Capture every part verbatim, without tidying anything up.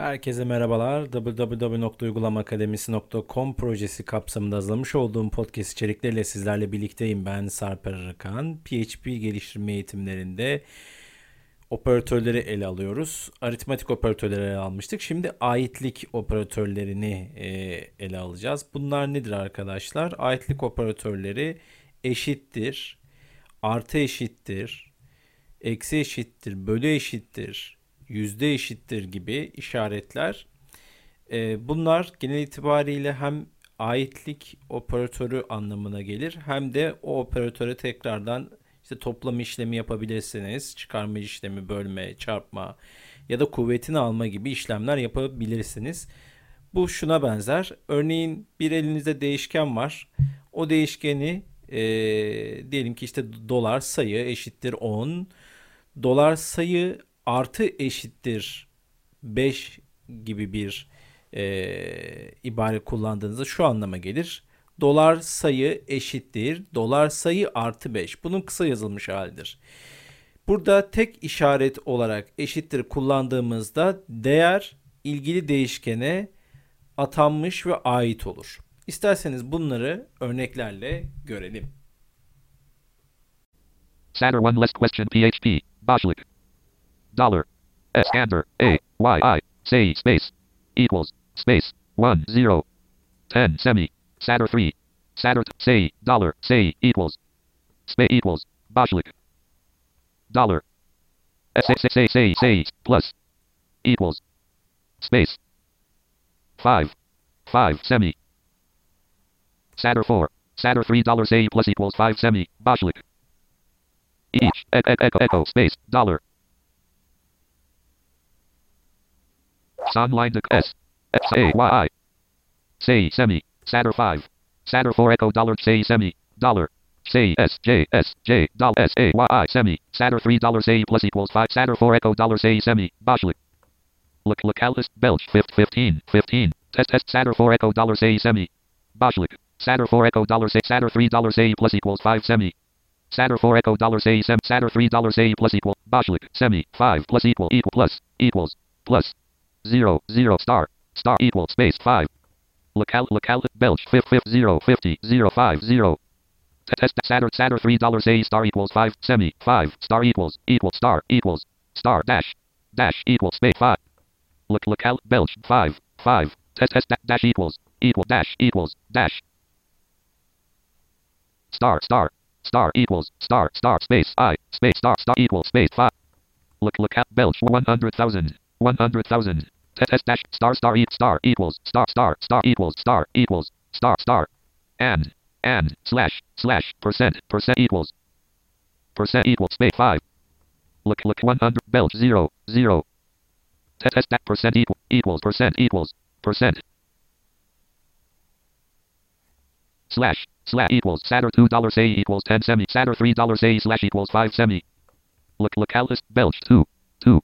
Herkese merhabalar. double-u double-u double-u nokta uygulama akademisi nokta com projesi kapsamında hazırlamış olduğum podcast içerikleriyle sizlerle birlikteyim. Ben Sarper Arıkan. P H P geliştirme eğitimlerinde operatörleri ele alıyoruz. Aritmatik operatörleri ele almıştık. Şimdi aitlik operatörlerini e, ele alacağız. Bunlar nedir arkadaşlar? Aitlik operatörleri eşittir, artı eşittir, eksi eşittir, bölü eşittir, yüzde eşittir gibi işaretler. Ee, bunlar genel itibariyle hem aitlik operatörü anlamına gelir hem de o operatöre tekrardan işte toplam işlemi yapabilirsiniz. Çıkarma işlemi, bölme, çarpma ya da kuvvetini alma gibi işlemler yapabilirsiniz. Bu şuna benzer. Örneğin bir elinizde değişken var. O değişkeni e, diyelim ki işte dolar sayı eşittir on. Dolar sayı artı eşittir beş gibi bir e, ibare kullandığınızda şu anlama gelir. Dolar sayı eşittir dolar sayı artı beş. Bunun kısa yazılmış halidir. Burada tek işaret olarak eşittir kullandığımızda değer ilgili değişkene atanmış ve ait olur. İsterseniz bunları örneklerle görelim. Satter one less question P H P, Boschlik. Dollar. Scander, A, Y, I, say, space, equals, space, one, zero, ten, semi, Satter three, Satter, say, dollar, say, equals, space, equals, Boschlik. Dollar. Say, say, say, say, say, plus, equals, space, five, five, semi, Satter four, Satter three, dollar, say, plus equals five, semi, Boschlik. Each, echo, echo, echo, space, dollar. Sunline S, S, A, Y, I. Say, semi, Satter five. Satter four, echo, dollar, say, semi, dollar. Say, S, J, S, J, dollar, S, A, Y, I, semi. Satter three, dollar, say, plus equals five. Satter four, echo, dollar, say, semi, Boschlik. Look, localist, Belch, fifteen, fifteen. Test, test, Satter four, echo, dollar, say, semi, Boschlik. Satter four, echo, dollar, say, Satter three, dollar, say, plus equals five, semi. Satter four, echo, dollar, say, sem, Satter three, dollar, say, plus equal, Boschlik, semi, five, plus equal, equal, plus, equals, plus, zero, zero, star, star, equal, space, five. Local, local, Belch, fifth, fifth, zero, fifty, zero, five, zero. Test, Satter, Satter three, dollar, say, star, equals, five, semi, five, star, equals, equal, star, equals, star, dash, dash, equal, space, five. Look, local, Belch, five, five. Test, test, dash, equals, equal, dash, equals, dash. Star, star. Star equals star star space I space star star equals space five. Look look at Belch one hundred thousand one hundred thousand. Test test dash star star e star equals star star star equals star equals star star. And and slash slash percent percent equals percent equals space five. Look look one hundred Belch zero zero. Test test that percent equal equals percent equals percent. Slash slash equals Satter two dollar say equals ten semi Satter three dollar say slash equals five semi. Look localist Belch two two.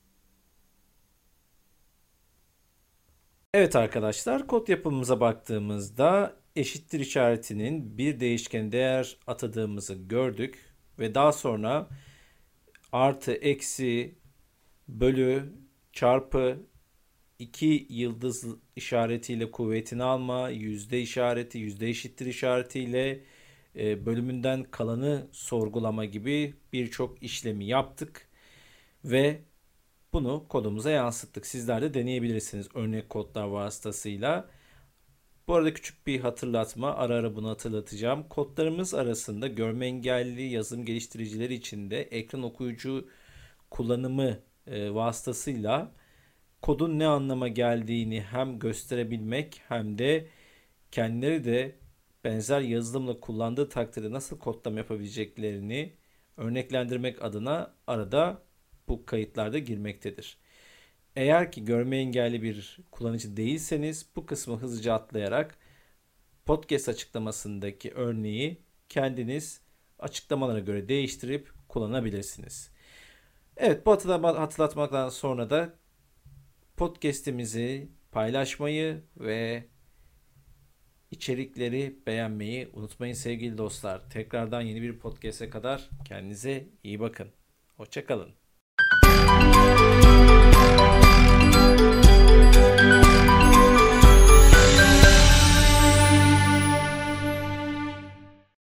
Evet arkadaşlar, kod yapımımıza baktığımızda eşittir işaretinin bir değişken değer atadığımızı gördük ve daha sonra artı, eksi, bölü, çarpı, iki yıldız işaretiyle kuvvetini alma, yüzde işareti, yüzde eşittir işaretiyle e, bölümünden kalanı sorgulama gibi birçok işlemi yaptık ve bunu kodumuza yansıttık. Sizler de deneyebilirsiniz örnek kodlar vasıtasıyla. Bu arada küçük bir hatırlatma, ara ara bunu hatırlatacağım. Kodlarımız arasında görme engelli yazılım geliştiricileri için de ekran okuyucu kullanımı e, vasıtasıyla kodun ne anlama geldiğini hem gösterebilmek hem de kendileri de benzer yazılımla kullandığı takdirde nasıl kodlama yapabileceklerini örneklendirmek adına arada bu kayıtlarda girmektedir. Eğer ki görme engelli bir kullanıcı değilseniz bu kısmı hızlıca atlayarak podcast açıklamasındaki örneği kendiniz açıklamalara göre değiştirip kullanabilirsiniz. Evet, bu hatırlatmaktan sonra da podcast'imizi paylaşmayı ve içerikleri beğenmeyi unutmayın sevgili dostlar. Tekrardan yeni bir podcast'e kadar kendinize iyi bakın. Hoşça kalın.